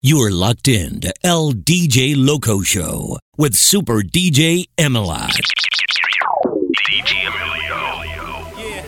You're locked in to LDJ Loco Show with Super DJ Emilio. DJ Emilio. Yeah.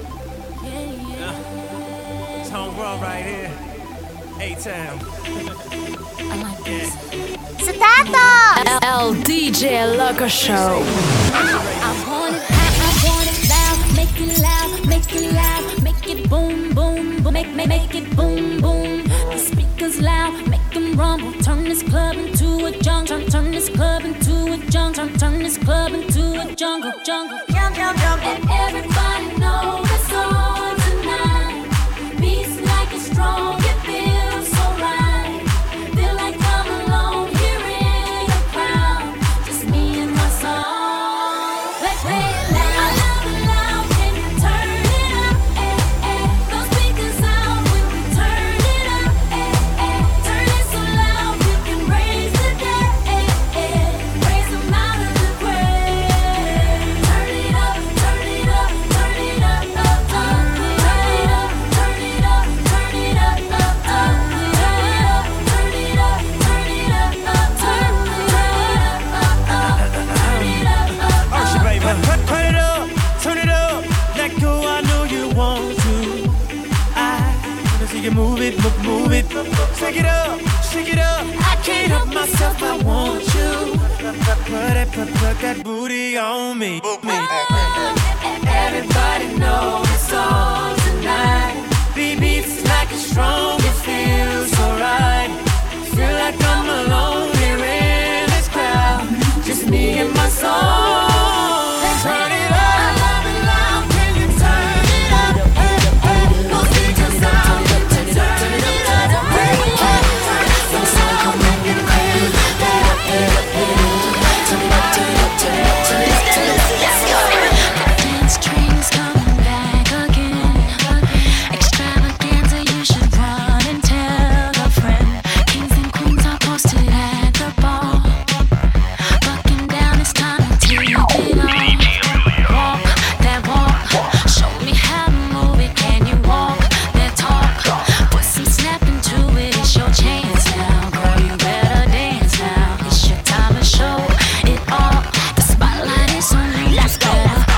It's home run right here. A-Town. I like this. Start! LDJ Loco Show. I want it loud, make it loud, make it loud, make it boom, boom, boom, make it boom, boom. The speakers loud, make them rumble. Turn this club into a jungle. Turn this club into a jungle. Turn this club into a jungle. And everybody knows it's on tonight. Beats like it's strong, it feels so right. Feel like I'm alone here in the crowd. Just me and my song. Let's play it loud. I love it loud. Can you turn it up? Those speakers out when we turn it up. Turn it so loud we can raise the dead. Raise them out of the grave. Turn it up, turn it up, turn it up, up, up. Turn it up, turn it up, turn it up, up, up. Turn it up, turn it up, turn it up, up, turn it up, up, up. Archie, baby. Turn it up. Let go, I know you want to. I wanna see you move it, move it. Shake it up, shake it up. I can't help myself, I want you. Put that booty on me. Everybody knows it's on tonight. Beats like it's strong, it feels so right. Feel like I'm alone here in this crowd. Just me and my song. Turn it up. I love it loud. Can you turn it up? Those speakers out. Turn it up. Turn it up. Some sound come make it rain. Dance train's coming back again. Extravaganza, you should run and tell a friend. Kings and queens are posted at the ball. Bucking down, it's time to take it off. Walk that walk. Show me how to move it. Can you walk that talk? Put some snap into it. It's your chance now, girl. You better dance now. It's your time to show it all. The spotlight is on you. Let's go.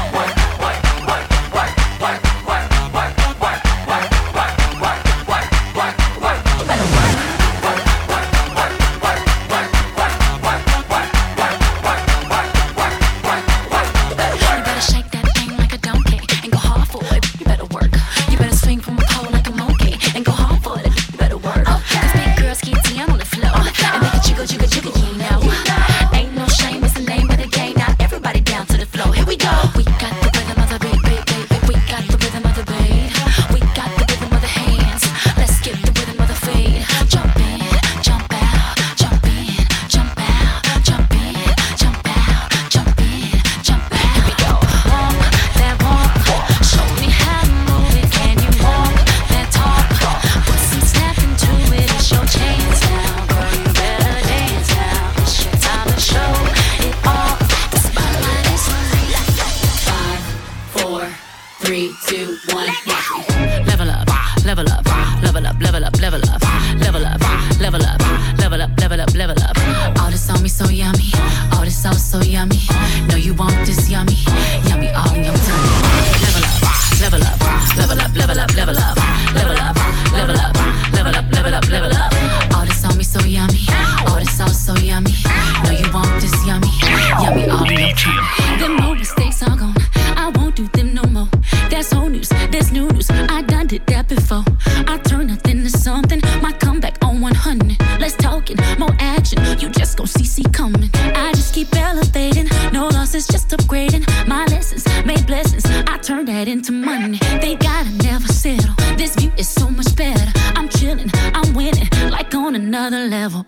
You better shake that thing like a donkey and go hard for it. You better work. You better swing from a pole like a monkey and go hard for it. You better work. Cause big girls get down on the floor and make it jiggle, jiggle, jiggle, you know. Ain't no shame, it's the name of the game. Now everybody down to the floor. Here we go. We got the rhythm of the beat, beat, beat, beat. We got the rhythm of the beat. We got the rhythm of the hands. Let's get the rhythm of the feet. Jump in, jump out, jump in, jump out, jump in, jump out, jump in, jump out. Here we go. Walk that walk. Show me how to move it. Can you walk that talk? Put some snap into it. It's your chance now, girl. You better dance now. It's your time to show it all. The spotlight is on you. 5, 4, 3, 2, 1. Level up, level up, level up, level up, level up, level up, level up, level up, level up, level up. All this on me so yummy, all this sauce so yummy. Know you want this yummy, yummy all in your tummy. Level up, level up, level up, level up, level up, level up, level up, level up, level up, level up. All this on me so yummy, all this sauce so yummy. Know you want this yummy, yummy all in your tummy. Them old mistakes are gone, I won't do them no more. That's old news, that's new news. I done did that before. I turn nothing to something. My comeback on 100. Let's talk it, more action. You just gon' see coming. I just keep elevating. No losses, just upgrading. My lessons made blessings. I turn that into money. They gotta never settle. This view is so much better. I'm chilling, I'm winning, like on another level.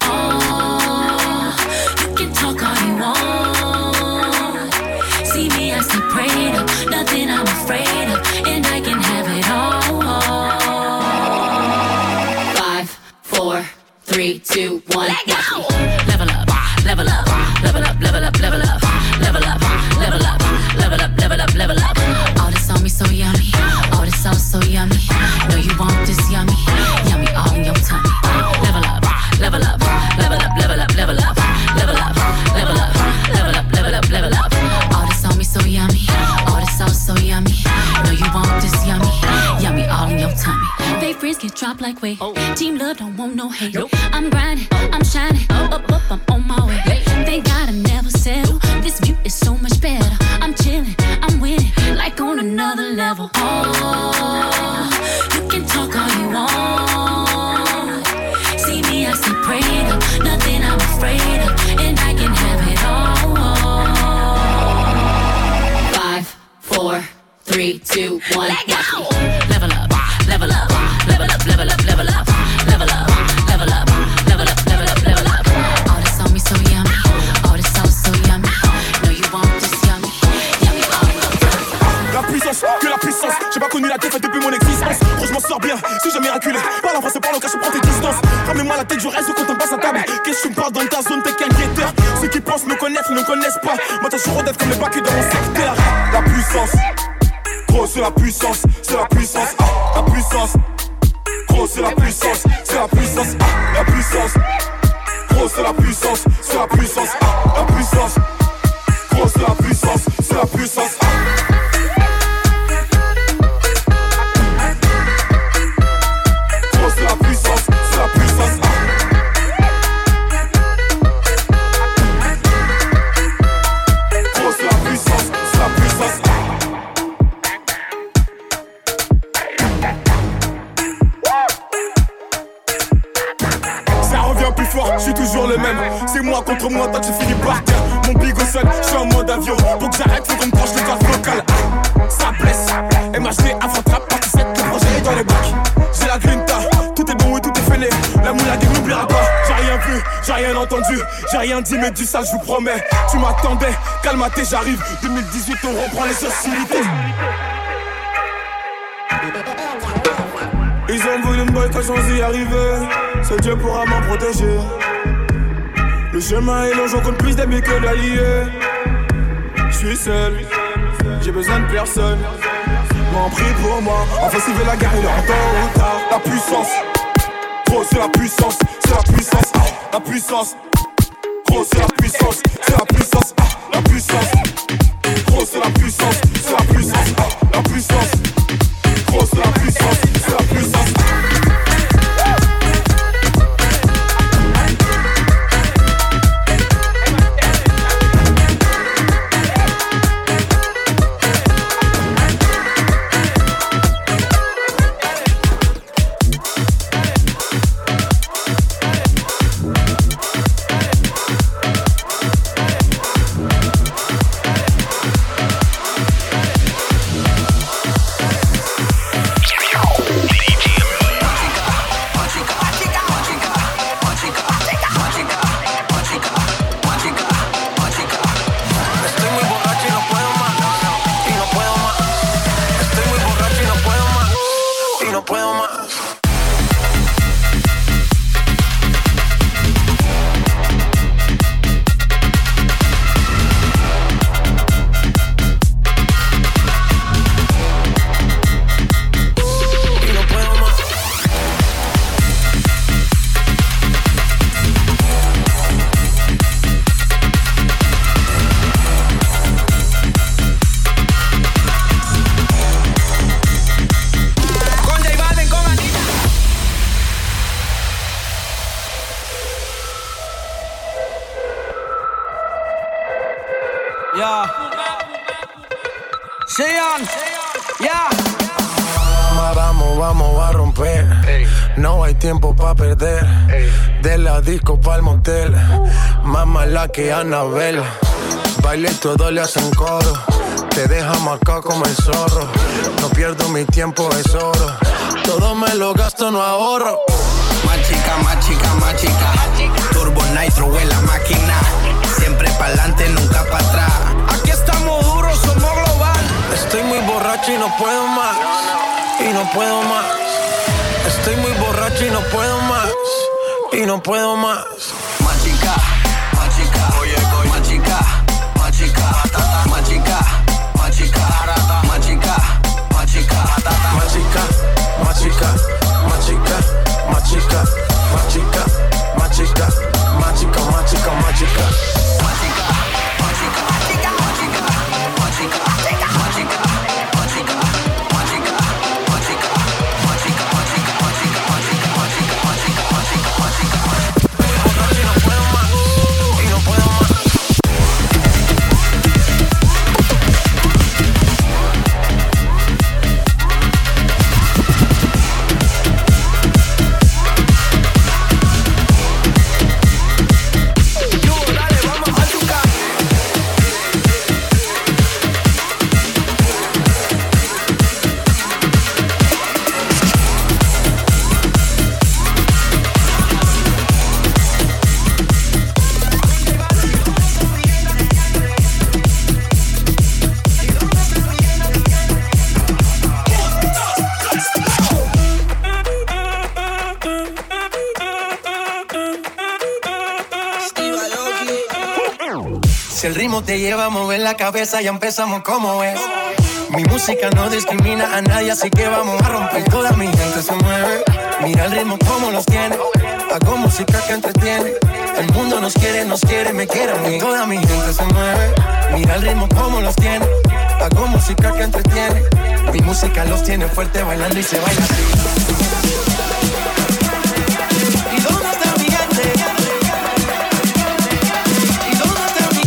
Oh, you can talk all you want. See me, I stay prayed up. Nothing I'm afraid of, and I can have it all. 5, 4, 3, 2, 1. Let go. Level up, level up, level up, level up, level up, level up, level up, level up, level up, level up. All this on me so yummy, all this sauce so yummy. Know you want this yummy, yummy all in your tummy. Level up, level way. Team love don't want no hate. I'm grinding, I'm shining, up, I'm on my way. Thank God I never settle. This view is so much better. I'm chilling, I'm winning, like on another level. Oh, you can talk all you want. See me, I stay prayed up, nothing I'm afraid of, and I can have it all. 5, 4, 3, 2, 1, let go. Level up, level up, level up, level up, level up, level up, level up, level up, level up, level up. All this on me so yummy, all this sauce so yummy. No, you want this yummy, yummy all up. La puissance, que la puissance. J'ai pas connu la défaite depuis mon existence. Gros, je m'en sors bien, si j'ai miraculé. Par la France, par le cas, je prends tes distances. Ramène-moi la tête, je reste quand on passe à table. Qu'est-ce que tu me parles dans ta zone, t'es qu'un guetteur. Ceux qui pensent me connaître ne connaissent pas. Moi, t'as toujours d'être comme les bacs dans mon secteur. La puissance. Gros, c'est la puissance, c'est la puissance, la puissance. Gros, c'est la puissance, c'est la puissance, la puissance. Gros, c'est la puissance, c'est la puissance, la puissance. Gros, c'est la puissance, c'est la puissance. Gros, c'est la puissance, c'est la puissance. Gros, c'est la puissance, c'est la puissance. Plus fort, je suis toujours le même. C'est moi contre moi, toi tu finis par terre. Mon big au sol, je suis en mode avion. Pour que j'arrête, faut qu'on me branche les cordes vocales. Ça blesse, MHD avant trap, partie 7, le projet est dans les bacs. J'ai la grinta, tout est bon et tout est fêlé. La moulague n'oubliera pas. J'ai rien vu, j'ai rien entendu, j'ai rien dit, mais du sale, je vous promets. Tu m'attendais, calme-toi, j'arrive. 2018, on reprend les hostilités. Ils ont voulu me boycotter sans y arriver. Seul Dieu pourra m'en protéger. Le chemin est long, j'en compte plus d'amis que d'alliés. J'suis seul, j'ai besoin de personne. M'en prie pour moi, enfin s'il veut la guerre, il est en temps ou tard. La puissance, gros c'est la puissance, c'est la puissance, la puissance. Gros c'est la puissance, c'est la puissance, la puissance. Gros c'est la puissance, c'est la puissance, la puissance. Gros c'est la puissance, c'est la puissance. Vamos a romper. No hay tiempo pa' perder. De la disco pa'l motel. Más mala que Anabel. Baile y todo le hacen coro. Te deja marcado como el zorro. No pierdo mi tiempo, es oro. Todo me lo gasto, no ahorro. Más chica, más chica, más chica. Turbo Nitro en la máquina. Siempre pa'lante, nunca pa' atrás. Aquí estamos duros, somos global. Estoy muy borracho y no puedo más. Y no puedo más. Estoy muy borracho y no puedo más. Y no puedo más. Más chica, oye, más chica, más chica, más chica, más chica, más chica, más chica, más chica, más chica, más chica, más chica, más chica, más chica, más chica, más chica, más chica. Si el ritmo te lleva a mover la cabeza, ya empezamos como es. Mi música no discrimina a nadie, así que vamos a romper. Toda mi gente se mueve. Mira el ritmo como los tiene. Hago música que entretiene. El mundo nos quiere, me quiere a mí. Toda mi gente se mueve. Mira el ritmo como los tiene. Hago música que entretiene. Mi música los tiene fuerte bailando y se baila así. ¿Y dónde está mi gente? ¿Y dónde está mi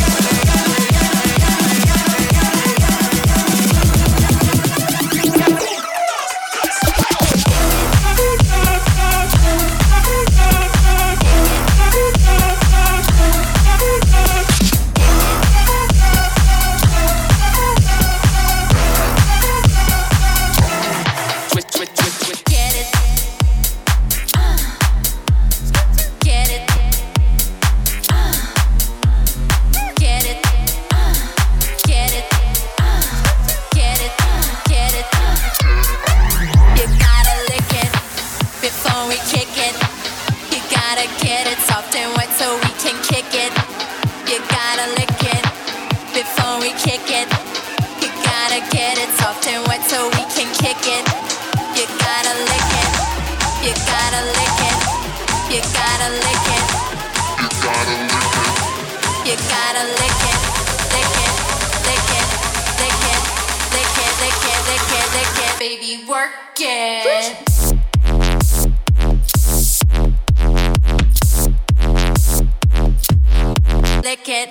Baby, work it. Lick it.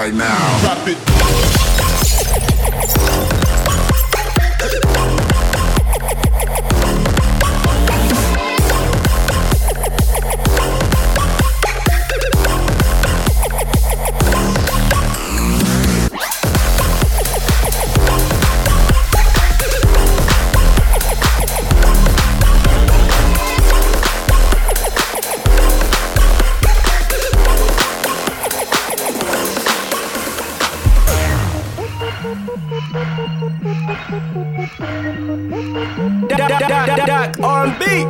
right now. Drop it. Doc R&B.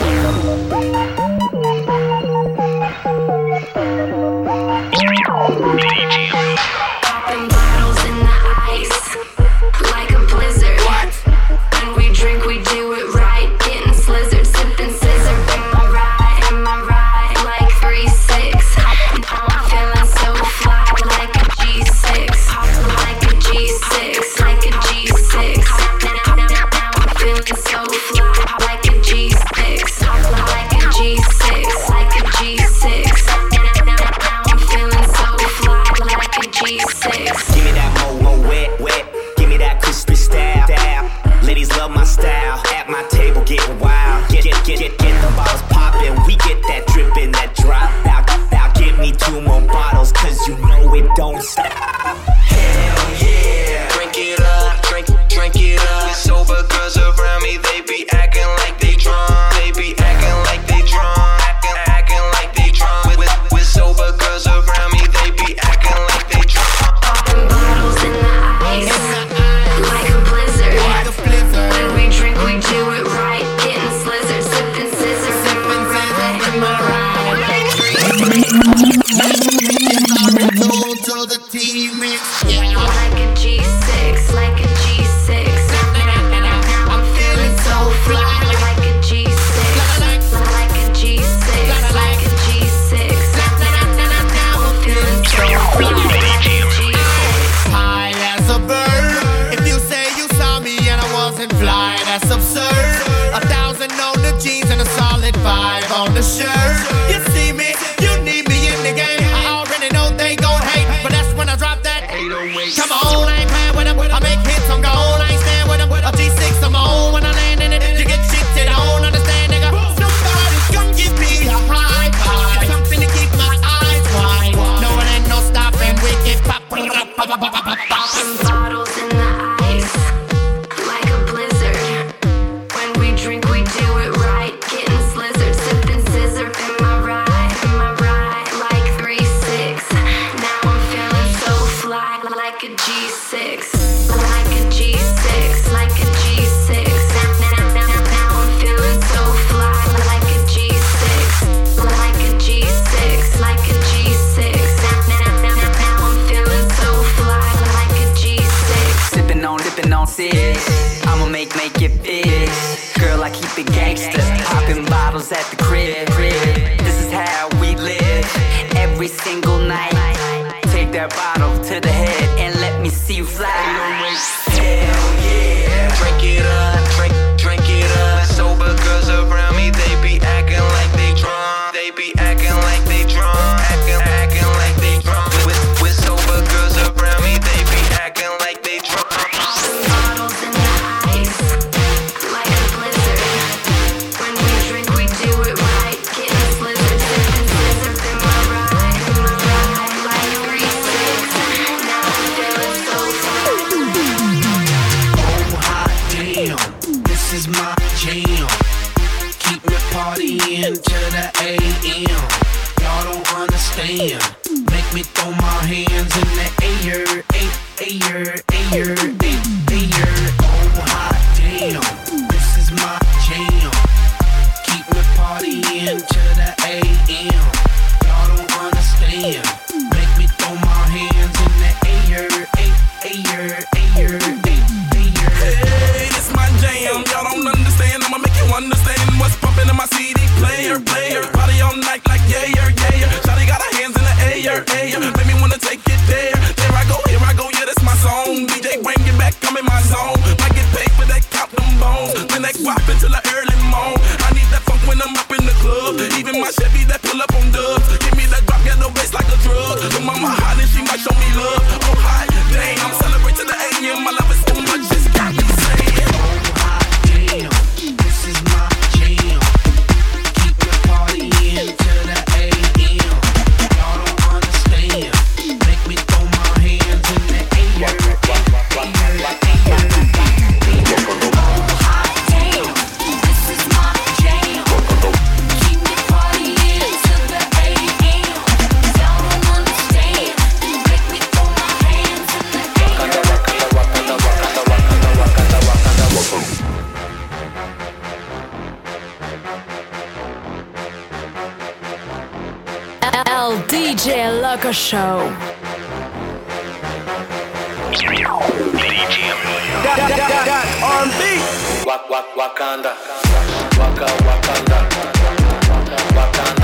Popping bottles in the ice like a blizzard. When we drink, we do it right. Getting slizzard, sipping scissor. Am I right? Like 3-6. I'm feeling so fly, like a G6. Like a G6, like a G6. Now I'm feeling so fly, like a G6. Like a G6, like a G6. Now I'm feeling so fly, like a G6. Give me that mo wet. Give me that crispy style. Ladies love my style. At my table getting wild. Get the bottles poppin'. We get that drippin', that drop. Now give me 2 more bottles, cause you know it don't stop. Hell yeah. Drink it up, drink it up. Sober girls around me, they be acting like they drunk. They be acting like they drunk. Acting like they drunk. With sober girls around me, they be acting like they drunk. Popping bottles in the ice like a blizzard. When we drink, we do it right. Getting slizzard, sipping scissor. Am I right? Like a G6, like a G6. I'm feeling so fly, like a G6. Like a G6, like a G6. Now I'm feeling so fly, like a G6. High as a bird. If you say you saw me and I wasn't fly, that's absurd. 1,000 on the jeans and a solid 5 on the shirt. You see me, you need me in the game. I already know they gon' hate, but that's when I drop that 808. Come on, I ain't playing with them. I make hits on gold, I ain't stand with them. A G6, I'm on when I land in it. You get shit that I don't understand, nigga. Somebody come give me a high five. Something to keep my eyes wide. No, it ain't no stopping. We get poppin'. Popping bottles in the ice like a blizzard. When we drink, we do it right. Getting slizzard, sipping scissor. Am I right? Like 3-6. Now I'm feeling so fly, like a G6. Like a G6, like a G6. Now I'm feeling so fly, like a G6. Like a G6, like a G6. Now I'm feeling so fly, like a G6. Sippin' on 6. I'ma make it fix. Girl, I keep it gangsta. Poppin' bottles at the crib. This is how we live. Every single night. Take that bottle to the head and let me see you fly. Hell yeah. Drink it up, drink it up. Sober girls around me, they be acting like they drunk. They be acting like they drunk. Acting like they drunk. With sober girls around me, they be acting like they drunk. Bottles in the ice like a blizzard. When we drink, we do it right. Getting slizzard, sipping scissor. Am I right? Like 3-6. Now I'm feeling so fly. Oh hot damn, this is my jam. Keep me partying to the AM. Y'all don't understand. Make me throw my hands in the air. Air. Oh hot damn, this is my jam. Keep me partying to the AM. Y'all don't understand. Make me throw my hands in the air. Air. Hey, this my jam. Y'all don't understand. I'ma make you understand what's pumping in my CD player. Party all night like yeah. Shawty got her hands in the air. Make me wanna take it there. There I go, yeah, that's my song. DJ, bring it back, come in DJ Loco Show. R&B. Wakanda. Wakanda. Wakanda.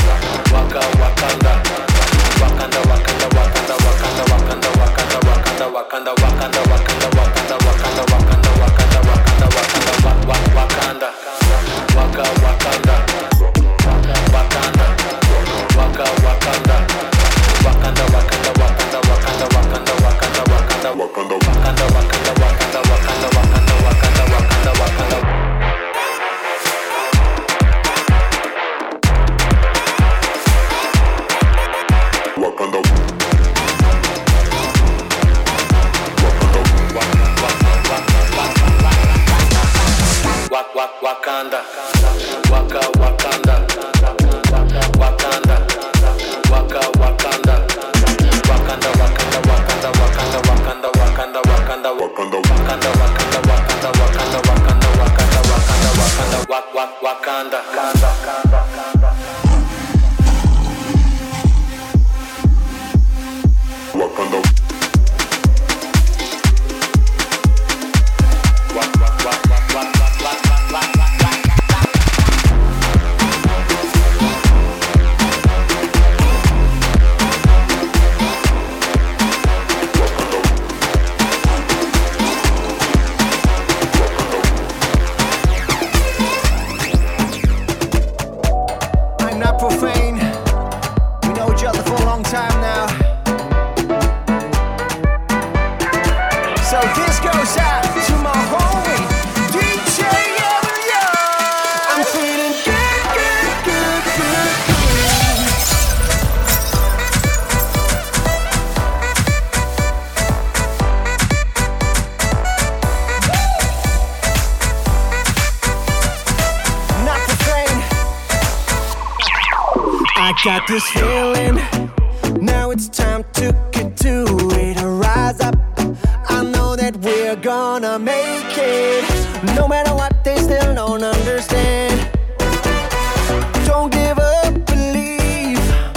Got this feeling, now it's time to get to it. Rise up, I know that we're gonna make it. No matter what, they still don't understand. Don't give up, believe.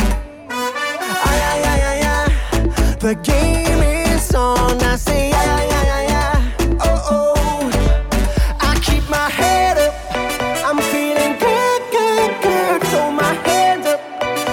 The game is on, I say oh. I keep my head up, I'm feeling good. Throw my hands up.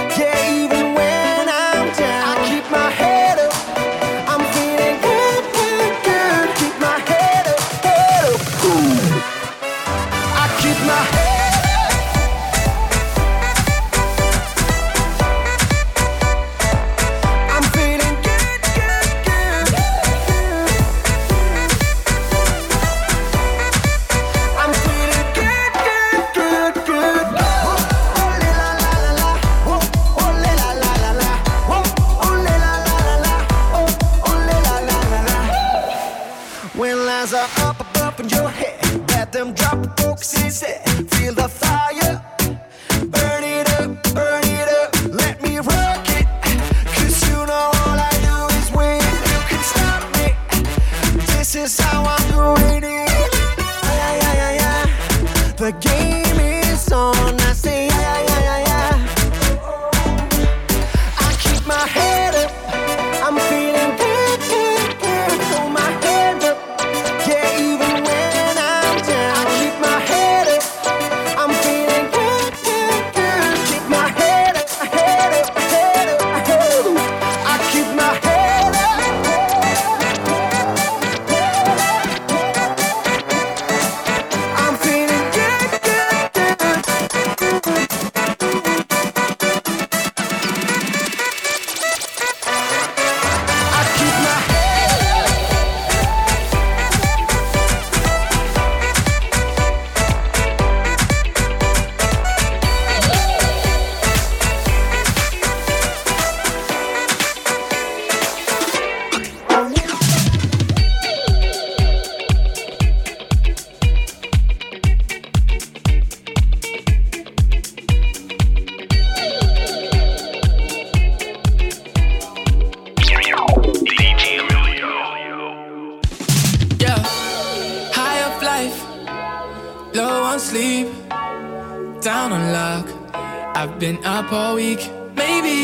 Feel the fire, burn it up, let me rock it. 'Cause you know all I do is win. You can stop me, this is how I'm doing it. The game is on, I say I keep my head up, I'm feeling good. Throw my hands up, yeah, even when I'm down. I keep my head up, I'm feeling good. Keep my head up, I keep my head up. I'm feeling good. I keep my head up. Yeah, high of life, low on sleep, down on luck. I've been up all week. Maybe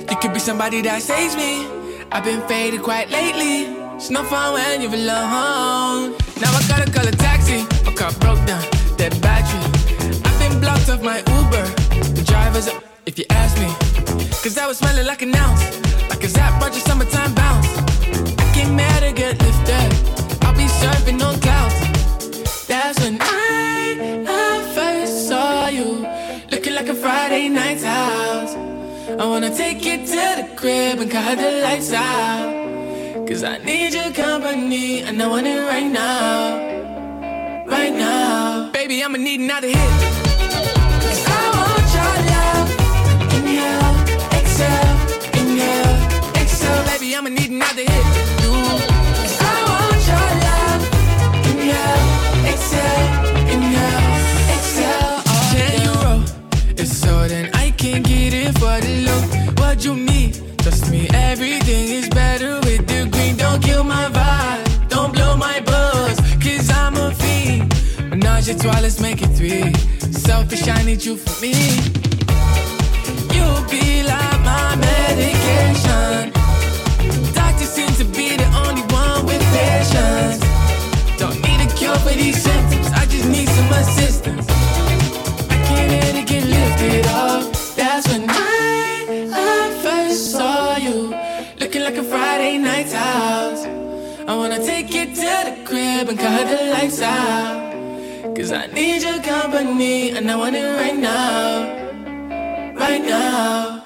You could be somebody that saves me. I've been faded quite lately. It's no fun when you're alone. Now I gotta call a taxi. My car broke down, dead battery. I've been blocked off my Uber. The driver's up, if you ask me. Cause I was smelling like an ounce. Like a Zap Roger summertime bounce. I came mad to get lifted. I'll be surfing on clouds. That's when I first saw you. Looking like a Friday night's house. I wanna take you to the crib and cut the lights out. Cause I need your company and I want it right now. Right now. Baby, I'ma need another hit. Cause I want your love. Inhale, exhale, inhale, exhale. Baby, I'ma need another hit. Cause I want your love. Inhale, exhale, inhale, exhale. Oh, 10 euro. It's so then I can get it for the low. What you need? Trust me, everything is better with the green. Don't kill my vibe, don't blow my buzz. Cause I'm a fiend. Menage a trois, let's make it 3. Selfish, I need you for me. You'll be like my medication. Doctor seems to be the only one with patience. Don't need a cure for these symptoms, I just need some assistance. I can't let it get lifted off. That's when I first saw you. Looking like a Friday night's house. I wanna take you to the crib and cut the lights out. Cause I need your company and I want it right now. Right now.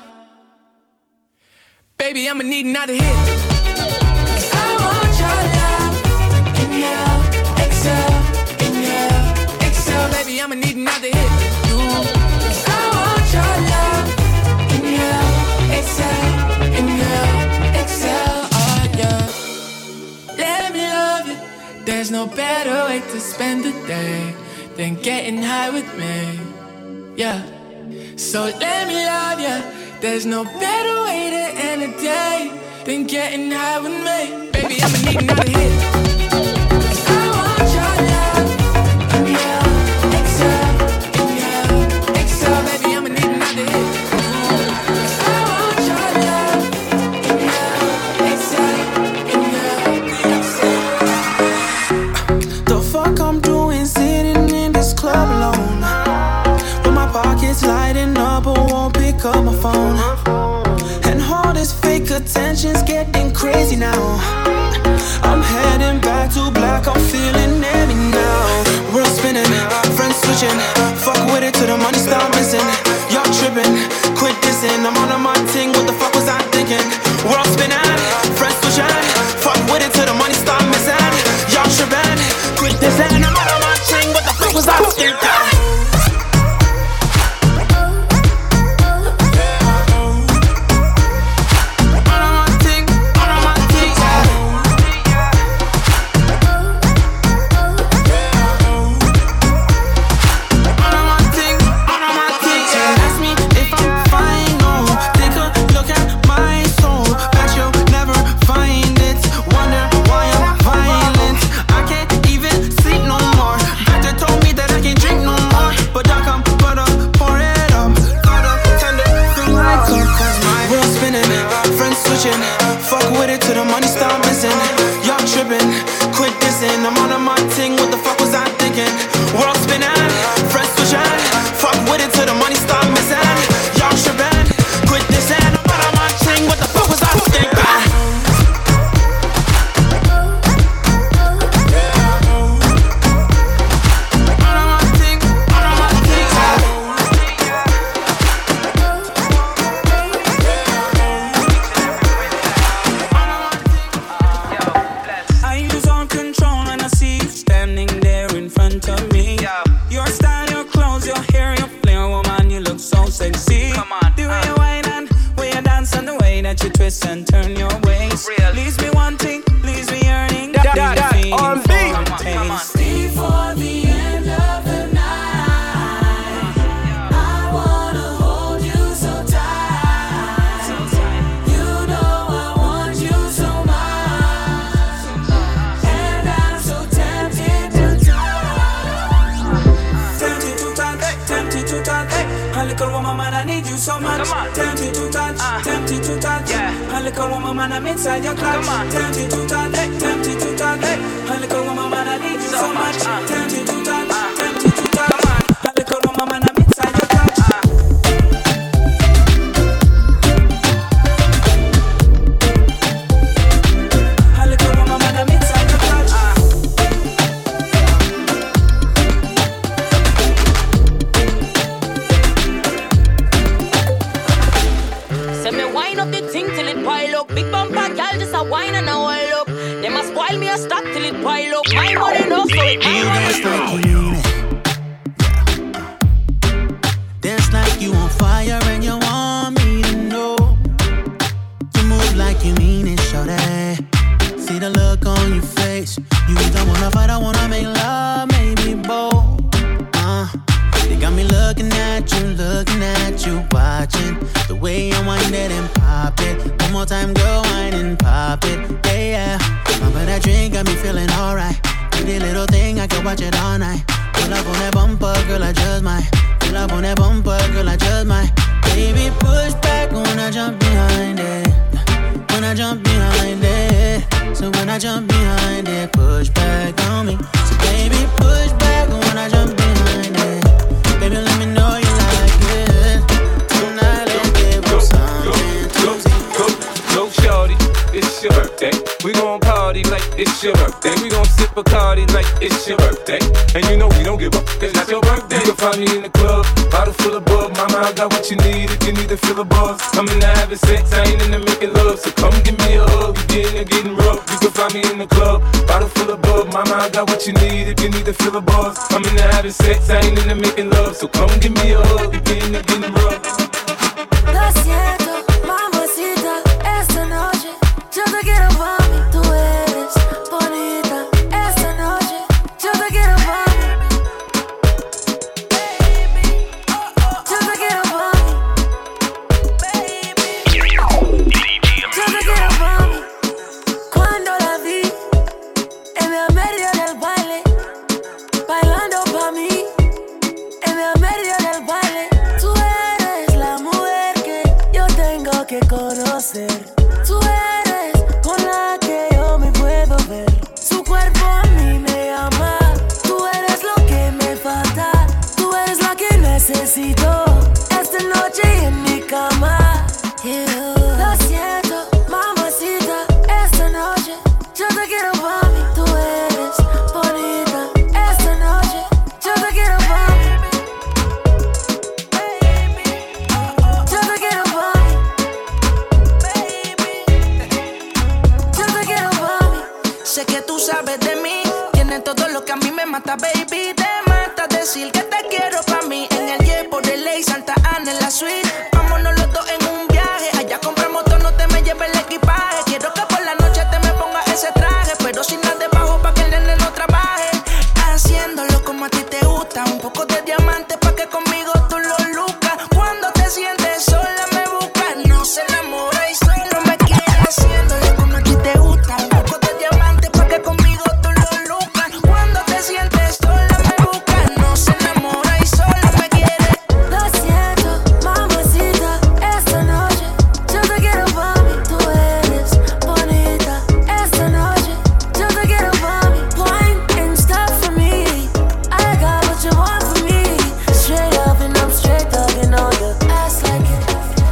Baby, I'ma need another hit. Cause I want your love. Inhale, exhale, inhale, exhale. Baby, I'ma need another hit. Cause I want your love. Inhale, exhale, inhale, exhale. Oh yeah. Let me love you. There's no better way to spend the day than getting high with me. Yeah. So let me love ya. There's no better way to end a day than getting high with me. Baby, I'ma need another hit. Cause I want your love. Inhale, exhale, inhale, exhale. Baby, I'ma need another hit. Cause I want your love. Inhale, exhale, inhale, exhale. The fuck I'm doing sitting in this club alone? Pockets lighting up, but won't pick up my phone. And all this fake attention's getting crazy now. I'm heading little woman, man, I need you so much. Tempted to touch, tempted to touch. A little woman, man, I'm inside your clutch. Tempted to touch, tempted to touch. A little woman, man, I need you so much. Tempted to touch, tempted to touch. A little woman, man, I'm inside your clutch. Wine and a whole up. They must spoil me a stock till it pile up. My money no, so it dance like you mean it. Dance like you on fire and you want me to know. You move like you mean it, shorty. See the look on your face. You either wanna fight or wanna make love, maybe both. They got me looking at you, watching the way you wind it and pop it. One more time, go wine and pop it, yeah. But that drink got me feeling alright. Pretty little thing, I can watch it all night. Pull up on that bumper, girl, I just might. Pull up on that bumper, girl, I just might. Baby, push back when I jump behind it. When I jump behind it. So when I jump behind it, push back on me. So baby, push back when I jump behind it. Baby, let me know you like it. Tonight, let's give you something. Go, shorty, it's your birthday. We gon' party like it's your birthday. We gon' sip Bacardi like it's your birthday. And you know we don't give up, it's not your birthday. You can find me in the club, bottle full of bug. Mama, I got what you need if you need to feel a buzz. I'm into having sex, I ain't into making love. So come give me a hug, you getting rough. You can find me in the club, bottle full of bug. Mama, I got what you need if you need to feel a buzz. I'm into having sex, I ain't into making love. So come give me a hug, you getting rough. Lo siento, mamacita, esta noche yo te quiero pa' mí. Tú eres bonita, esta noche yo te quiero pa' mí. Yo te quiero pa' mí. Yo te quiero pa' mí. Cuando la vi en el medio del baile, bailando pa' mí, en el medio del baile. Tú eres la mujer que yo tengo que conocer. Tú eres con la que yo me puedo ver. Su cuerpo a mí me llama. Tú eres lo que me falta. Tú eres la que necesito esta noche en mi cama. Lo siento, mamacita, esta noche yo te quiero pa' mí. Tú eres bonita, esta noche yo te quiero pa' mí. Yo te quiero pa' mí. Yo te quiero pa' mí. Sé que tú sabes de mí, tienes todo lo que a mí me mata, baby. Te mata decir que te quiero pa' mí. En el jet por el ley, Santa Ana en la suite. Vámonos los dos en un viaje. Allá compramos todo, no te me lleves el equipaje. Quiero que por la noche te me pongas ese traje, pero sin nada debajo pa' que el nene no trabaje. Haciéndolo como a ti te gusta, un poco de diamante pa' que conmigo tú lo lucas. Cuando te sientes sola me buscas, no se enamora y solo me quiere. Haciéndolo como a ti te gusta, un poco de diamante pa' que conmigo tú lo lucas. Cuando te sientes sola me buscas, no se enamora y solo me quiere. Lo siento, mamacita, esta noche yo te quiero pa' mí. Tú eres bonita, esta noche yo te quiero pa' mí. Wine and stuff for me, I got what you want from me. Straight up and I'm straight talking on your ass like it.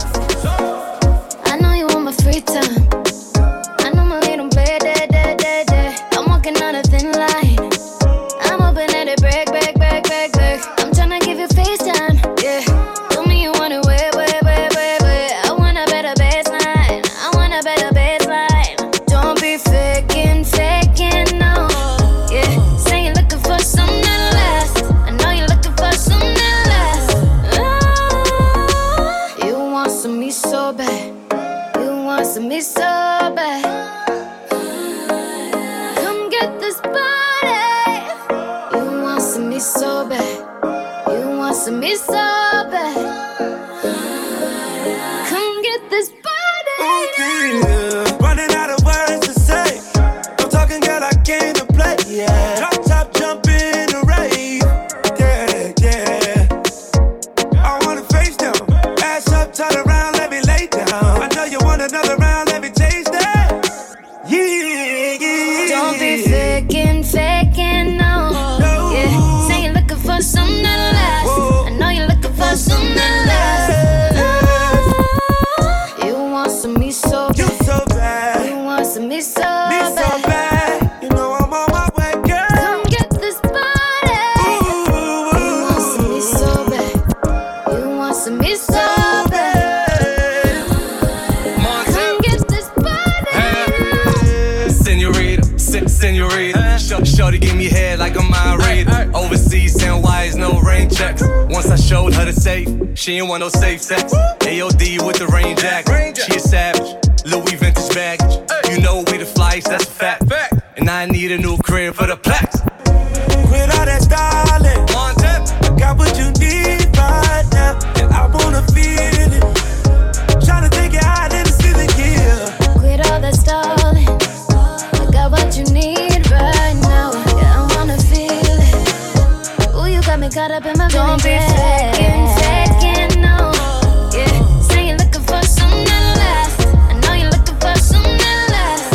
I know you want my free time. I know my little bed, I'm walking on a thin line. I'm hoping that it break. I'm tryna give you FaceTime, yeah. Tell me you want it way. I want a better baseline. Don't be faking, no. Yeah, say you're looking for something that lasts. I know you're looking for something that lasts. You want some me so bad. You want some me so bad. Come get this body. You want some me so bad. You want some me so bad. Come get this body. Running out of words to say. I'm talking, girl, I came to play. Yeah. Drop top, jump in the rave. Yeah. I wanna face me head like a mind reader. Overseas, 10 wires, no rain checks. Once I showed her the safe, she ain't want no safe sex. AOD with the rain jacket. She a savage, Louis vintage baggage. You know we the flyest, that's a fact. And I need a new crib for the plaques. Quit all that stalling. I got what you need right now, and I wanna feel it. Tryna take it out in the ceiling, yeah. Quit all that stalling. I got what you need right now, yeah, I wanna feel it. Ooh, you got me caught up in my feelings. Don't be faking, no. Yeah, say you're looking for something that lasts. I know you're looking for something that lasts.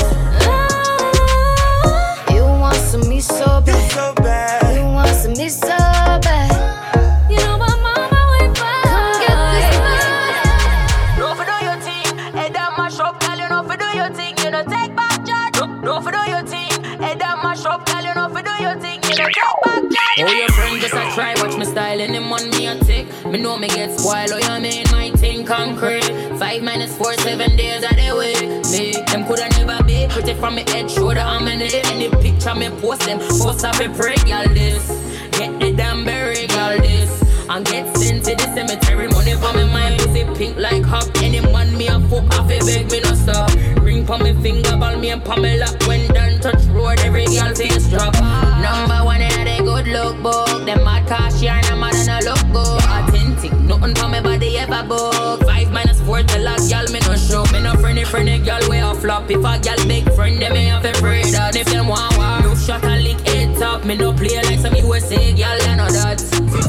Oh, you want some me so bad. You want some me so bad. You know my mama wait for. Come get this love. No for do your thing, head down my shop, girl. You know for do your thing, you know take back charge. No for do your thing, head down my shop, girl. You know for do your thing, you know take back charge. Oh, your friend just a try, watch me style and them on me a tick. Me know me get spoiled, oh you mean my thing concrete. 5 minutes 4, 7 days of the week. Me, them coulda never be pretty from me head, shoulder, I'm in it. Any picture me post them, post up a break, y'all this. Get the damn berry, y'all this. And get sent to the cemetery, money for me mind, pussy pink like hop. Any man me a fuck off, a beg me no stop. Ring for me finger, ball me and Pamela. When done touch road, every girl face drop. Number 1 in a good look book. Them mad cash yarn, I'm mad and I look good. Authentic, nothing for me body ever book. 5 minus 4 till a girl me no show. Me no friendly girl way a flop. If a girl big friend, them me have a pray that. If them want war, no shot and lick it top. Me no play like some USA girl, I know that.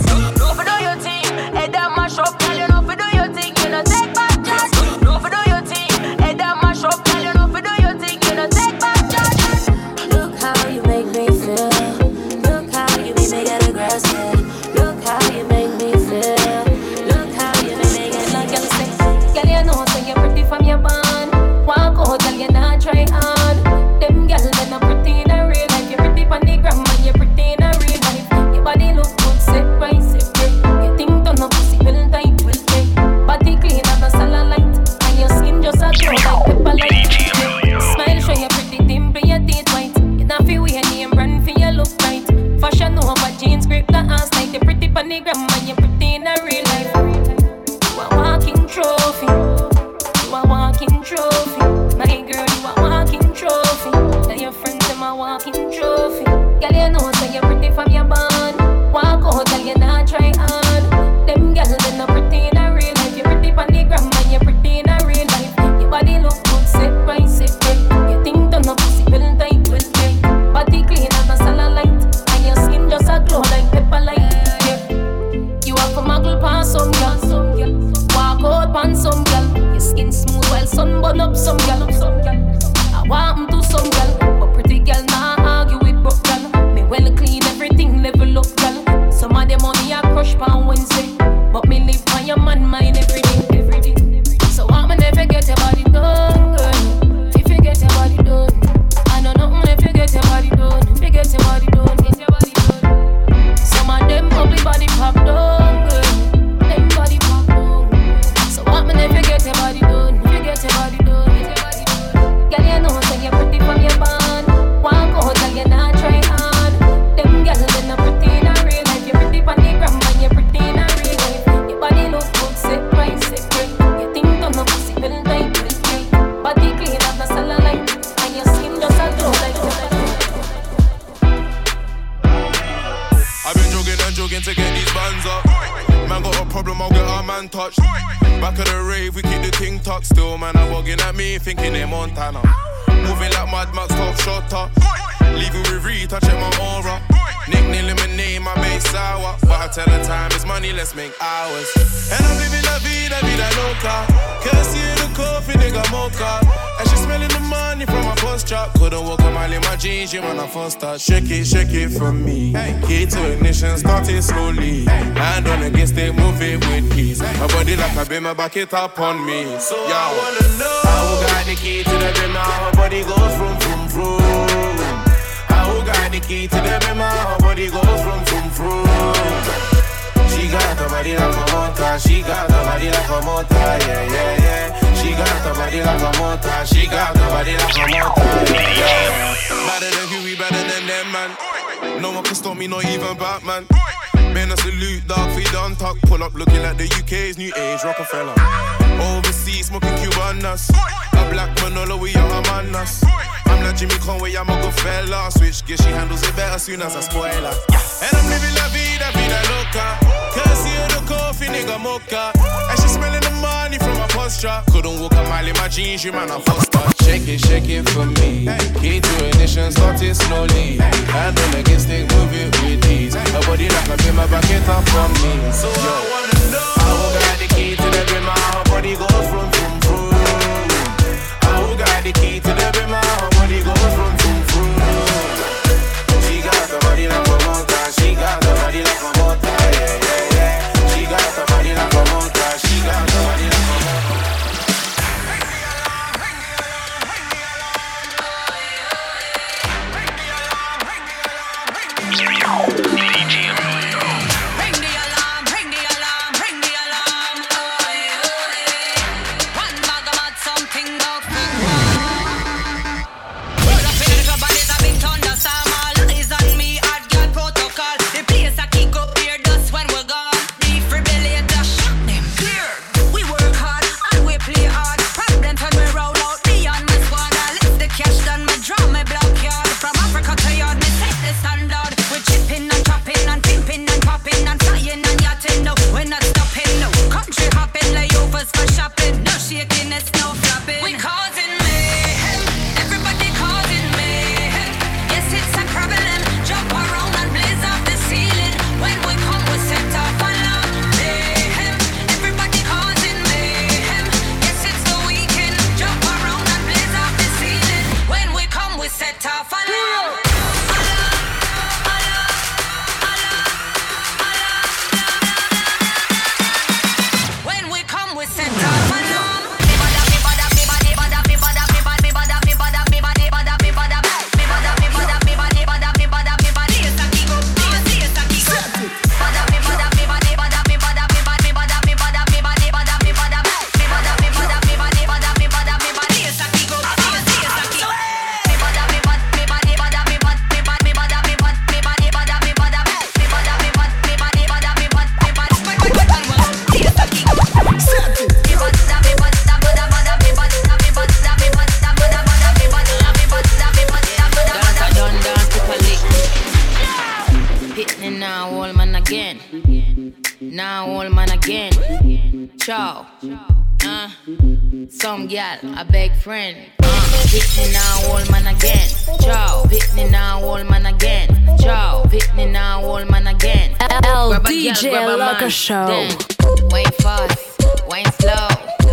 No for do your thing, head down my shop, girl. You know for do your thing, you know take back charge. No for do your thing, head down my shop, girl. You know for do your thing, you know take back charge. Look how you make me feel. Look how you make me get aggressive. Look how you make me feel. Look how you make me get like you say. Girl, you know so you're pretty from your band. Walk out, girl, you not try hard. Them girls they're not pretty in a real life. You're pretty on the gram and you're pretty in a real life. Your body look good, sit right, sit right. You think don't know pussy will tight, will take. Body clean as a cellulite, and your skin just a glow like pepper light. Smile show you pretty dimple, your teeth white. You not feel weird name brand for your look right. Fashion over jeans, grip the ass tight. You're pretty on the gram and you're pretty in a real life. You a walking trophy. You a walking trophy. My girl, you a walking trophy. Tell your friends them a walking trophy. Girl, you know so you're pretty from your band. Walk out, girl, you not try hard. Them girls they not pretty in a real life. You're pretty on the gram and you're pretty in a real life. Your body look good, sit right, sit right. You think don't know pussy will tight, will tight. Body clean as a cellulite, and your skin just a glow like pepper light. Yeah. You have a muggle pan some girl. Walk out pan some girl. Your skin smooth while sun burn up some girl. I want 'em to some girl, but pretty girl nah argue with broke girl. Me well clean everything level up girl. Some of them money I crush pan Wednesday, but me live on your man mind every day, every day. So I'ma never get your body done, girl. If you get your body done, I know nothing if you get your body done. If you get your body done, get your body done. Some of them ugly body pop done, girl. Them body pop done. So I'ma never get your body done. If you get your body done, get your body done. Girl, you know so you're pretty from your band. Walk out, girl, you not try hard. Them girls they not pretty in a real life. You're pretty on the gram and you're pretty in a real life. Your body look good, sit right, sit right. You think don't know pussy will tight, will tight. Body clean as a cellulite, and your skin just a glow like pepper. I've been jogging to get these bands up. Man got a problem, I'll get our man touched. Back of the rave, we keep the ting tucked. Still, man, I'm walking at me, thinking they're Montana. Moving like Mad Max, top shot up. Leaving with Reed, touching my aura. Nickname lemonade, my base sour. But I tell her time is money, let's make hours. And I'm living la vida loca. Courtesy of the coffee, nigga mocha. And she smelling the money from my first drop. Couldn't walk a mile in my jeans, you when I first start. Shake it from me. Key to ignition, starting slowly. Hand on against it, move it with ease. My body like a beamer, back it up on me. So yo, I wanna know how got the key to the beamer. Her body goes vroom, vroom, vroom. How got the key to the beamer. Her body goes vroom, vroom, vroom. She got the body like a motor. She got the body like a motor. Yeah, yeah, yeah. She got the body like a motor. She got the body like a motor. Yeah, yeah. Better than Huey, better than them, man. No one can stop me, not even Batman. Man, a salute, dog, feed on talk. Pull up looking like the UK's new age Rockefeller. Overseas, smoking Cubanas. A black Manolo, we are Among Us. I'm not Jimmy Conway, I'm a good fella. Switch gear, she handles it better soon as I spoil her. And I'm living la vida, vida loca. Courtesy of the coffee, nigga mocha. And she smelling the money from my posture. Couldn't walk a mile in my jeans, you man, I foster. Shake it for me. Key to ignition, start it slowly. Hand on against it, move it with ease. Her body like a bimmer, back it up on me. So I wanna know how got the key to the bimmer. Her body goes from vroom. How got the key to the bimmer. Her body goes from vroom. She got the body like a motor. She got the body like a motor. Yeah. She got the body like a motor. She got the body like a motor. Some gal, a big friend. Hit me now, old man again. Ciao, hit me now, old man again. Ciao, hit me now, old man again. LDJ Loco Show. Then, wine fast, wine slow.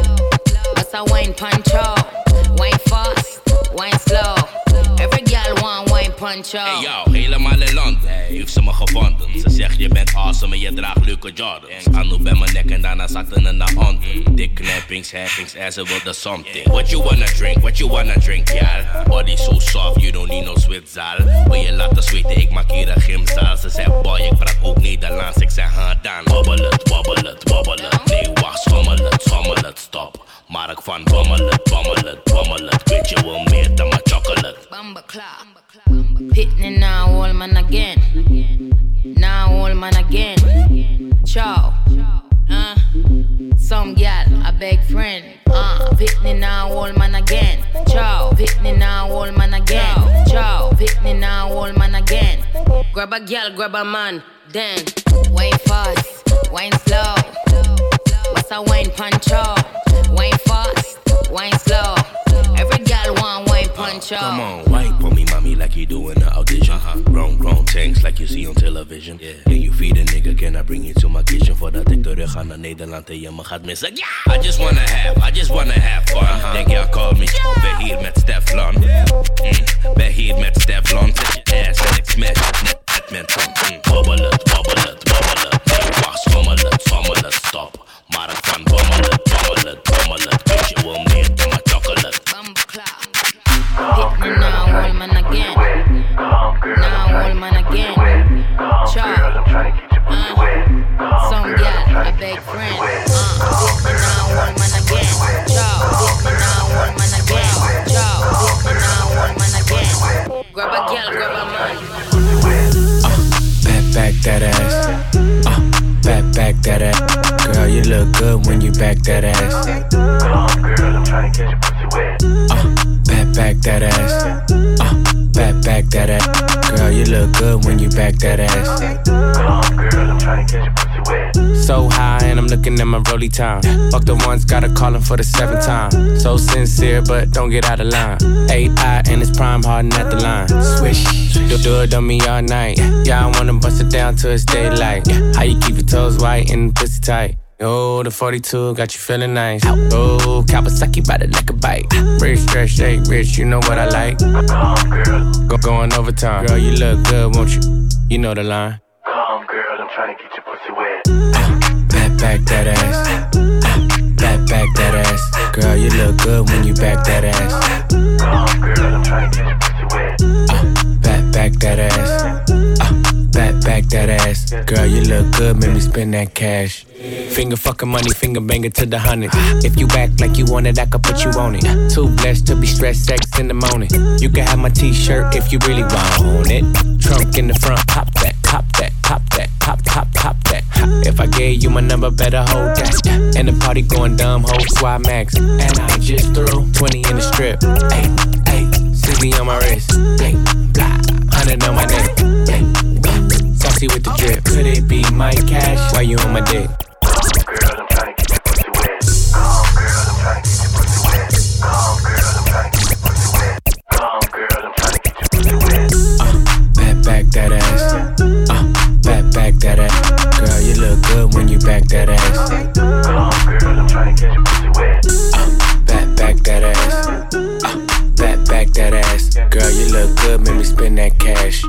What's a wine puncho? Wine fast, wine slow. Every gal want wine puncho. Hey yo, helemaal in land. Heeft ze me gevonden. Ze zegt je bent awesome en je draagt leuke Jordans. Anu bij mijn nek en daarna zakte ze naar onder. Dik knappings, happings en ze wilde something. What you wanna drink, y'all? Body so soft, you don't need no Zwitser. Wil je laten zweten, ik maak hier een gymzaal. Ze zei boy, ik praat ook Nederlands. Ik zei dan. Wobbel het. Nee, wacht, schommel het, stop. Mark van bommel het. Weet je wel meer dan mijn chocolate. Hit me now, old man again. Now, old man again. Ciao. Some gal, a big friend. Hit me now, old man again. Ciao. Hit me now, old man again. Ciao. Hit me now, old man again. Grab a gal, grab a man. Then, wine fast, wine slow. What's a wine puncho? Wine fast, wine slow. Every gal want wine puncho. Come on, wine for me, mommy, like you do in the audition. Grown tanks like you see on television. Can you feed a nigga? Can I bring you to my kitchen? Voordat ik terug ga naar Nederland en je me gaat missen. Yeah! I just wanna have fun. Denk jij call me, ben hier met Steflon. Ben hier met Steflon. Zet je ass en ik smash het net met tong. Wobbel het. Nee, wacht, schommel het, stop. Maar ik van bommel het. Weet je wel meer dan mijn chocolate. Hit me now, old man again. Now, old man again. Ciao. Some gal, a big friend. Hit me now, old man again. Ciao. Hit me now, old man again. Ciao. Hit me now, old man again. Grab a gal, grab a man. back that ass. Come on, girl, I'm tryna get your pussy wet. Back that ass. Back that ass. Girl, you look good when you back that ass. Come on, girl, I'm tryna get your pussy wet. So high and I'm looking at my rollie time. Fuck the ones, gotta call him for the 7th time. So sincere, but don't get out of line. 8-eye and it's prime harden at the line. Swish, do it on me all night. Yeah, I wanna bust it down till it's daylight. How you keep your toes white and pussy tight? Oh, the 42 got you feeling nice. Oh, Kawasaki bout it like a bike. Rich, stretch, shake, rich, you know what I like. Come on, girl. Going overtime. Girl, you look good, won't you? You know the line. Come on, girl, I'm trying to get your pussy wet. Back that ass. Back that ass. Girl, you look good when you back that ass. Come on, girl, I'm trying to get your pussy wet. Back that ass. Back that ass. Girl, you look good, make me spend that cash. Finger fucking money, finger banger to the hundreds. If you act like you want it, I could put you on it. Too blessed to be stressed, sex in the morning. You can have my t-shirt if you really want it. Trunk in the front, pop that, pop that, pop that, pop that. If I gave you my number, better hold that. And the party going dumb, whole squad max. And I just threw 20 in the strip. Ay, 60 on my wrist. Ay, blah, 100 on my neck. Ay, saucy with the drip. Could it be my cash? Why you on my dick? Girl, I'm trying to get your pussy wet. Come girl, I'm trying to get your pussy wet. Come girl, I'm trying to get your pussy wet. Come girl, I'm trying to get your pussy wet. Back that ass. Back that ass. Girl, you look good when you back that ass. Come girl, I'm trying to get your pussy wet. Back that ass. Back that ass. Girl, you look good, make me spend that cash.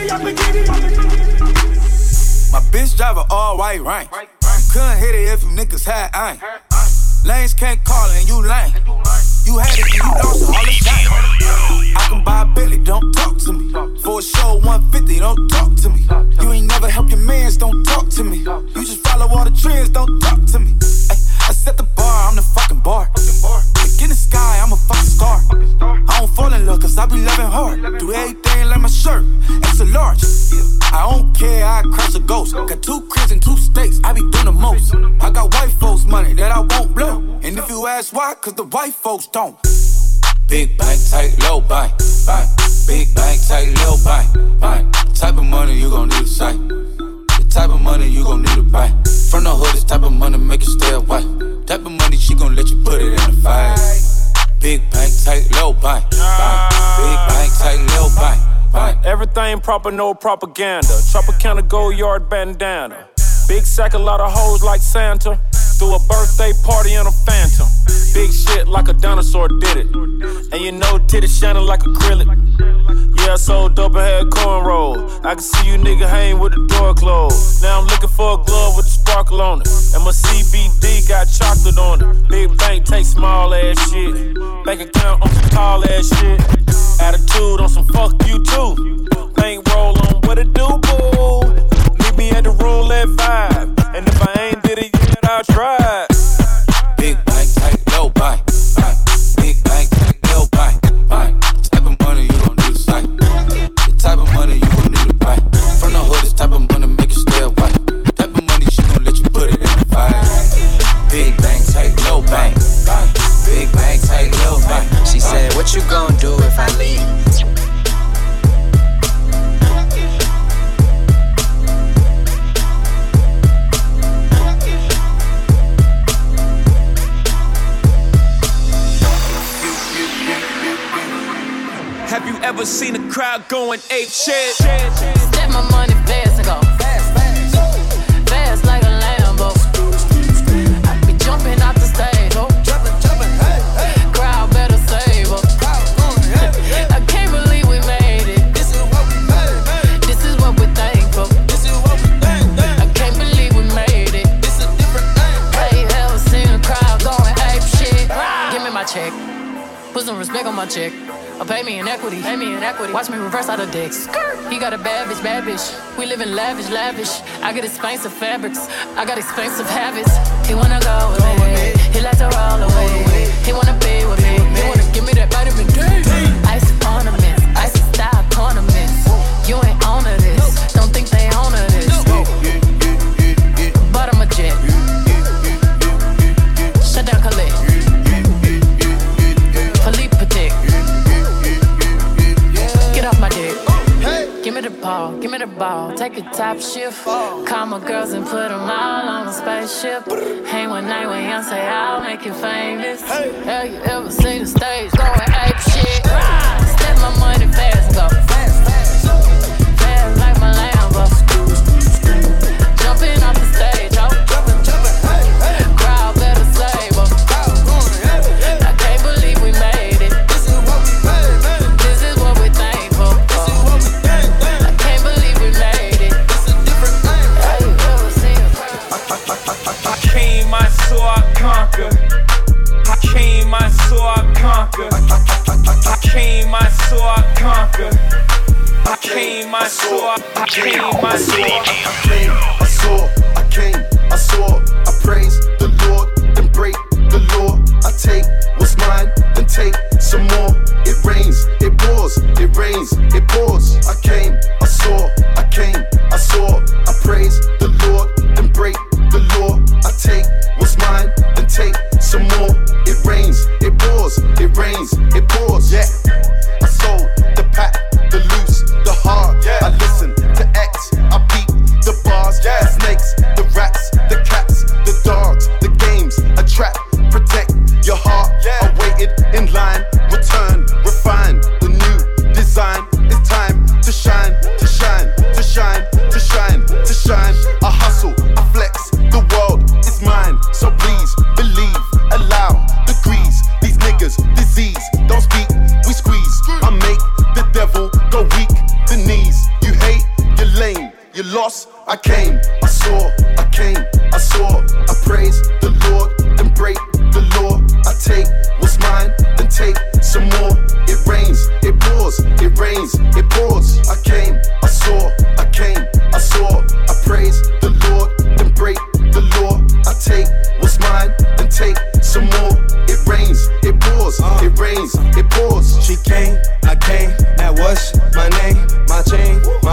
My bitch drive an all-white rank. Couldn't hit it if you niggas had ain't. Lanes can't call it and you lame. You had it and you lost it all the time. I can buy a Billy, don't talk to me. For a show 150, don't talk to me. You ain't never help your mans, don't talk to me. You just follow all the trends, don't talk to me. I set the bar, I'm the fucking bar. Like in the sky, I'm a fucking star. I don't fall in love cause I be loving hard. Do everything like my shirt, extra large. I don't care, I crush a ghost. Got 2 cribs and 2 states, I be doing the most. I got white folks money that I won't blow. And if you ask why, cause the white folks don't. Big bank, tight, low bank. Big bank, tight, low bank. Type of money you gon' need a sight. The type of money you gon' need to buy. From the hood, this type of money make you stay away. Type of money she gon' let you put it in the fight. Big bank, tight, low bank. Big bank, tight, low bank. Everything proper, no propaganda. Tropicana gold yard bandana. Big sack, a lot of hoes like Santa. Threw a birthday party in a phantom. Big shit like a dinosaur did it. And you know titties shining like acrylic. Yeah, I sold dope and had cornrows. I can see you nigga hang with the door closed. Now I'm looking for a glove with a sparkle on it. And my CBD got chocolate on it. Big bank take small ass shit. Bank account on some tall ass shit. Attitude on some fuck you too. Bankroll on what it do, boo. Meet me at the roulette vibe. And if I ain't did it yet, I'll try. Big bank, tight, low bank. Big bank, tight, low bank. The type of money you gon' need to sight. The type of money you gon' need to buy. From the hood, this type of money make you stay away. The type of money she gon' let you put it in the fight. Big bank, tight, low bank. Big bank, tight, low bank. She said, what you gon' do if I leave? Have you ever seen a crowd going ape shit? Step my money fast and go fast like a Lambo. I be jumping out the stage, oh. Crowd better save up. I can't believe we made it. This is what we made. This is what we're thankful. This is what we think. I can't believe we made it. This a different thing. I ain't ever seen a crowd going ape shit. Give me my check. Put some respect on my check. Or pay me in equity. Watch me reverse out of dicks. He got a bad bitch. We live in lavish. I get expensive fabrics. I got expensive habits. He wanna go with me. He like to roll away. He wanna be with me. He wanna give me that vitamin D. Ice ornaments. Ice style ornaments. You ain't on to this. Don't think they on to this. Bottom of jet. it top shift. Call my girls and put them all on a spaceship. Hang one night with Young, say I'll make you famous. Have you ever seen the stage going ape shit? Step my money fast, go fast like my Lambo. Jumping off the stage, oh. Crowd better save 'em. I can't believe we made it. This is what we're thankful for. I can't believe we made it. Have you ever seen a crowd? I came, I saw, I conquer. I came, I saw, I conquer. I came, I saw, I conquer. I came, I saw, I came, I saw. I came, I saw, I praise the Lord, then break the law. I take what's mine, then take some more. It rains, it pours, it rains, it pours. I came, I saw, I came, I saw, I praise the Lord, then break the law. I take what's mine, then take some more. It rains, it pours, it rains, it pours. Yeah, I sold the pack, the loose, the hard. Yeah. I listen to X, I beat the bars. Yeah. The snakes, the rats, the cats, the dogs, the games, a trap. Protect your heart. Yeah. I waited in line, return, refine the new design. It's time to shine, to shine, to shine, to shine, to shine. I hustle, I flex, the world is mine. So please believe, allow degrees. These niggas, disease, don't speak, we squeeze. I make the devil go weak, the knees. You hate, you're lame, you lost. I came, I saw, I came, I saw. I praise the Lord, then break the law. I take what's mine, then take some more. It rains, it pours, it rains, it pours. I came, I saw, I came, I saw. I praise the Lord, then break the law. I take what's mine, then take some more. It rains, it pours, it rains, it pours. She came, I came, now what's my name? My chain, my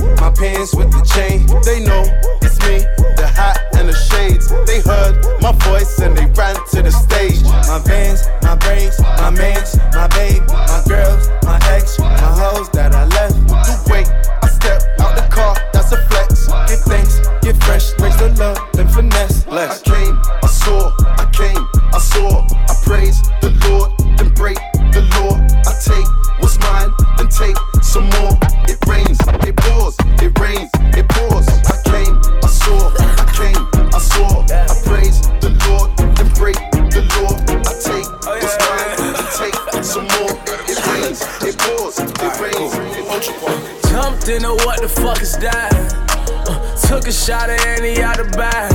pants with the chain. They know it's me, the hat and the shades. They heard my voice and they ran to the stage. My Vans, my braids, my mans, my babe, my girls, my ex, my hoes that I left. The way I step out the car, that's a flex. Give thanks, get fresh, raise the love, then finesse. Bless. I came, I saw, I came, I saw. I praise the Lord, then break the law. I take what's mine, then take some more. It rains, it pours, it rains, it pours. I came, I saw, I came, I saw. I praise the Lord, then break the law. I take what's mine, then take some more. It rains, it pours, it rains, it pours. Jumped into what the fuck is that? Took a shot at any out the bag.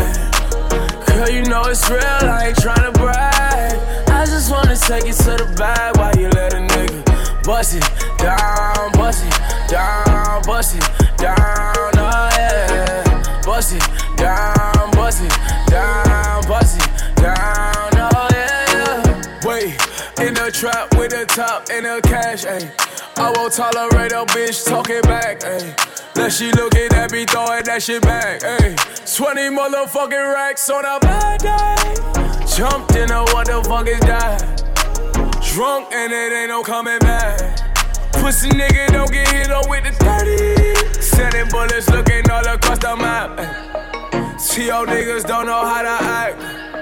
Girl, you know it's real, I ain't tryna brag. I just wanna take it to the bag while you let a nigga bust it down, bust it down, bust it down, oh yeah. Bust it down, bust it down, bust it down, oh yeah. Wait, in the trap with the top and the cash, ayy. I won't tolerate a bitch talking back, ayy. Now she looking at me throwing that shit back, ayy. 20 motherfucking racks on a bad day. Jumped into what the fuck is that? Drunk and it ain't no coming back. Pussy nigga don't get hit up with the 30. Sending bullets looking all across the map, ayy. See y'all niggas don't know how to act.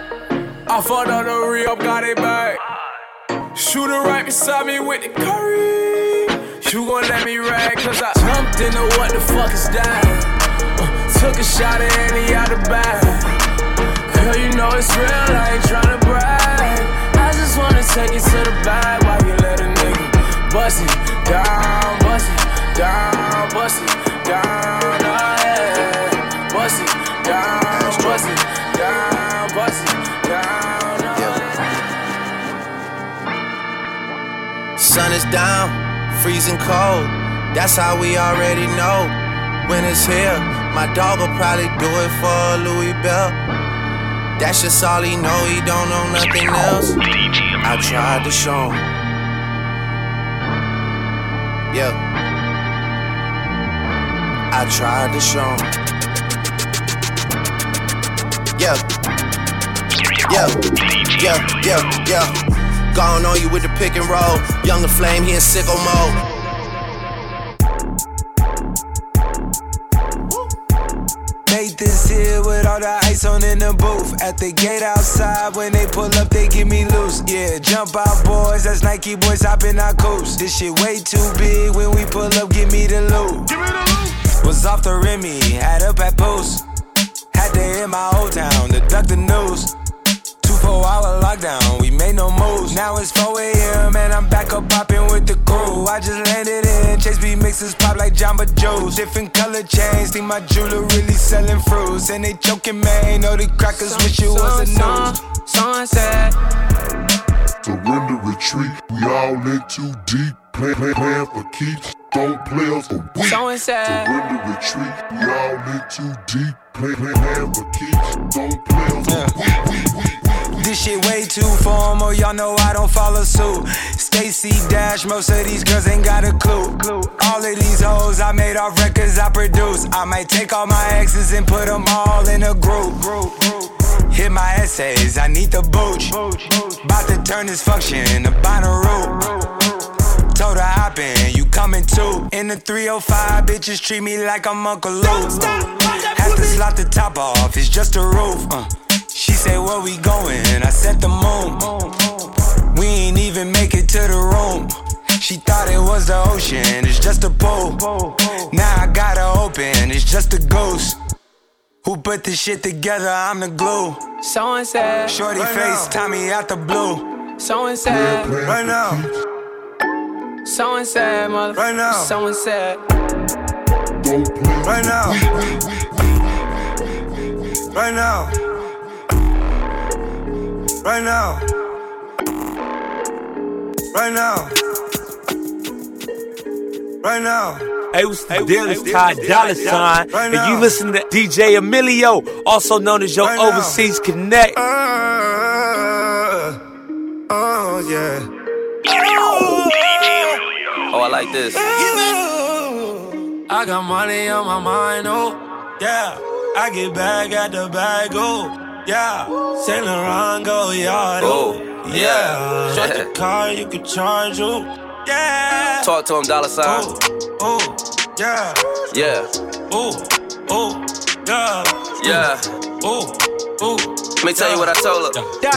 I fought on the re-up, got it back. Shooter right beside me with the curry. You gon' let me rag, cause I jumped into what the fuck is that? Took a shot at any out the bag. Girl, you know it's real, I ain't tryna brag. I just wanna take it to the bag while you let a nigga bust it down, bust it down, bust it down, oh yeah. Bust it down, bust it down, bust it down, oh yeah. Sun is down, freezing cold, that's how we already know. When it's here, my dog will probably do it for Louis Bell. That's just all he know, he don't know nothing else. I tried to show him. Yeah, I tried to show him. Yeah. Gone on you with the pick and roll. Young the flame, he in sicko mode. this here with all the ice on in the booth. At the gate outside, when they pull up, they get me loose. Yeah, jump out, boys. That's Nike boys hopping our coast. This shit way too big. When we pull up, give me the loot. Was off the Remy, had up at post. Had to hit my old town to duck the news. 2-4-hour lockdown, we made no moves. Now it's 4 a.m. and I'm back up popping with the crew. I just landed in, Chase B mixes pop like Jamba Joe's. Different color chains, think my jeweler really selling fruits. And they choking, man, know the crackers wish it was a news. Sunset. Surrender, retreat, we all in too deep. Plan for keeps, don't play us for weeks. Surrender, retreat, we all in too deep. Plan for keeps, don't play us for weeks. This shit way too formal, y'all know I don't follow suit. Stacy Dash, most of these girls ain't got a clue. All of these hoes I made off records I produce. I might take all my exes and put them all in a group. Hit my essays, I need the booch. About to turn this function into Bonnaroo. Told her hop in, you coming too. In the 305, bitches treat me like I'm Uncle Luke. Have to slot the top off, it's just a roof. She said, where we going? I said the moon. We ain't even make it to the room. She thought it was the ocean, it's just a pool. Now I gotta open, it's just a ghost. Who put this shit together? I'm the glue. So and said. Shorty right face, now. Tommy out the blue. So and said. Right now. So and said, motherfucker. Right now. So and said. Right now. Right now. Right now. Right now. Right now. Hey, what's the deal? It's Ty Dolla $ign, and you listen to DJ Emilio, also known as your Overseas Connect. Oh, yeah. Oh, I like this. I got money on my mind, oh, yeah. I get back at the bag, oh, yeah. Saint Laurent, go yard, oh, yeah. Shut the car, you can charge, oh, yeah. Talk to him, Dolla $ign. Oh, yeah. Yeah. Oh, yeah. Yeah. Oh. Let me tell you what I told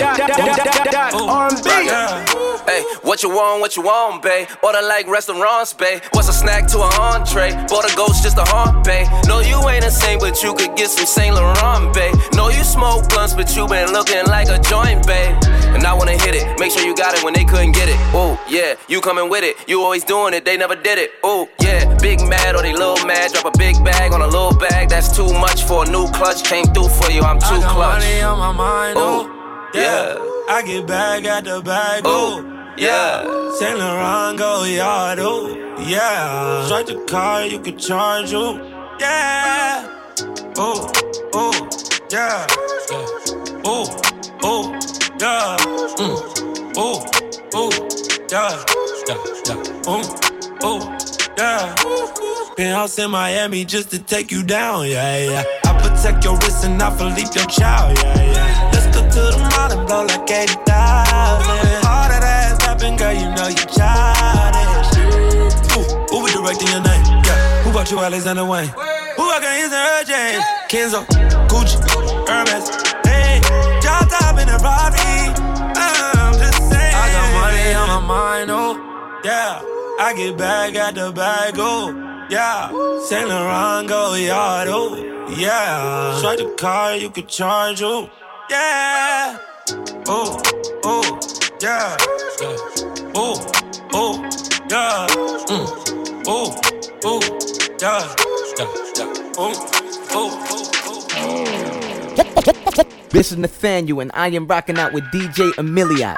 her. Hey, what you want, babe? Order like restaurants, babe. What's a snack to an entree? Bought a ghost just a haunt, babe. No, you ain't a saint, but you could get some Saint Laurent, babe. No, you smoke blunts, but you been looking like a joint, babe. And I wanna hit it, make sure you got it when they couldn't get it. Oh, yeah, you coming with it. You always doing it, they never did it. Oh, yeah, big mad or they little mad. Drop a big bag on a little bag. That's too much for a new clutch. Came through for you, I'm too clutch. Money on my mind, oh, yeah. I get back at the bag, oh, yeah. Saint Laurent, go yard, oh, yeah. Strike the car, you can charge, oh, yeah. Oh, yeah. Oh, yeah. Yeah. Penthouse in Miami just to take you down, yeah. I protect your wrist and I Philippe your child, yeah. Let's go to the mall and blow like 80,000. All that ass tapping, girl, you know you childish. Who be directing your name? Yeah. Who bought you Alexander Wayne? Who I got his and her James? Kenzo, Gucci, Hermes. Hey, y'all top in the Ferrari. I'm just saying. I got money on my mind, oh, yeah. I get back at the bag, oh, yeah. Saint Laurent, go yard, oh, yeah. Strike the car, you can charge, oh, yeah. Oh, yeah. Oh, yeah. Yeah. This is Nathaniel, and I am rocking out with DJ Emiliat.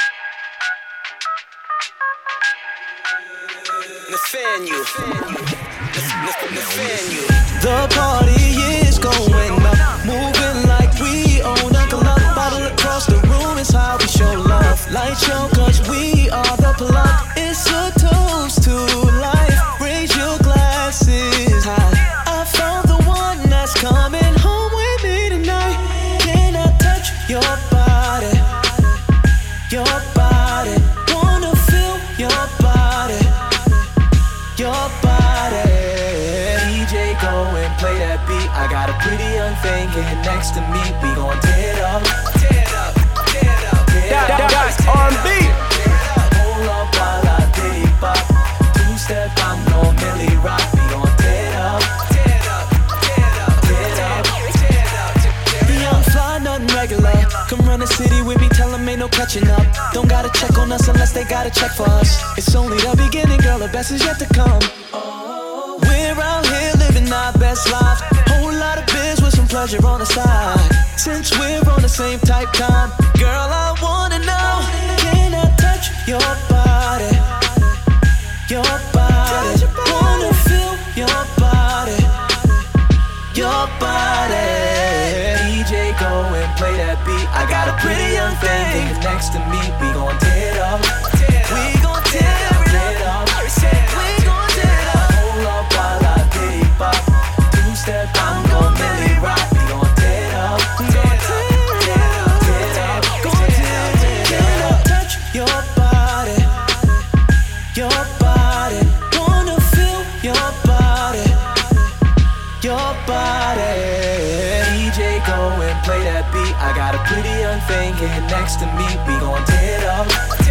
The party is going up, moving like we own a club. Bottle across the room is how we show love. Light show, cause we are the plug. It's a toast to life. Raise your glasses high. I found the one that's coming home with me tonight. Can I touch your body? Your body. Wanna feel your body. Your body. DJ, go and play that beat. I got a pretty young getting next to me, we gon' tear it up. Tear it up, tear it up, tear it up. That's R&B. Hold up while I diddy bop. Two-step, I'm gon' Millie rock. We gon' tear it up. Tear it up, tear it up, tear it up, tear it up. The young fly, nothing regular. Come run the city with me, tell them ain't no catching up. Don't gotta check on us unless they gotta check for us. It's only the beginning, girl, the best is yet to come. We're out here living our best lives. Whole lot of biz with some pleasure on the side. Since we're on the same type time, girl, I wanna know, can I touch your body? Your body, wanna feel your body. Your body. DJ, go and play that beat. I got a pretty young thing next to me. We gon' tear it up. We gon' tear it up. We gon' tear it up. Hold up while I diddy bop. Two-step, I'm gon' Millie rock. We gon' tear it up. Touch your body. Your body. Wanna feel your body. Your body. DJ, go and play that beat. I got a pretty young thing getting next to me. We gon' tear it up.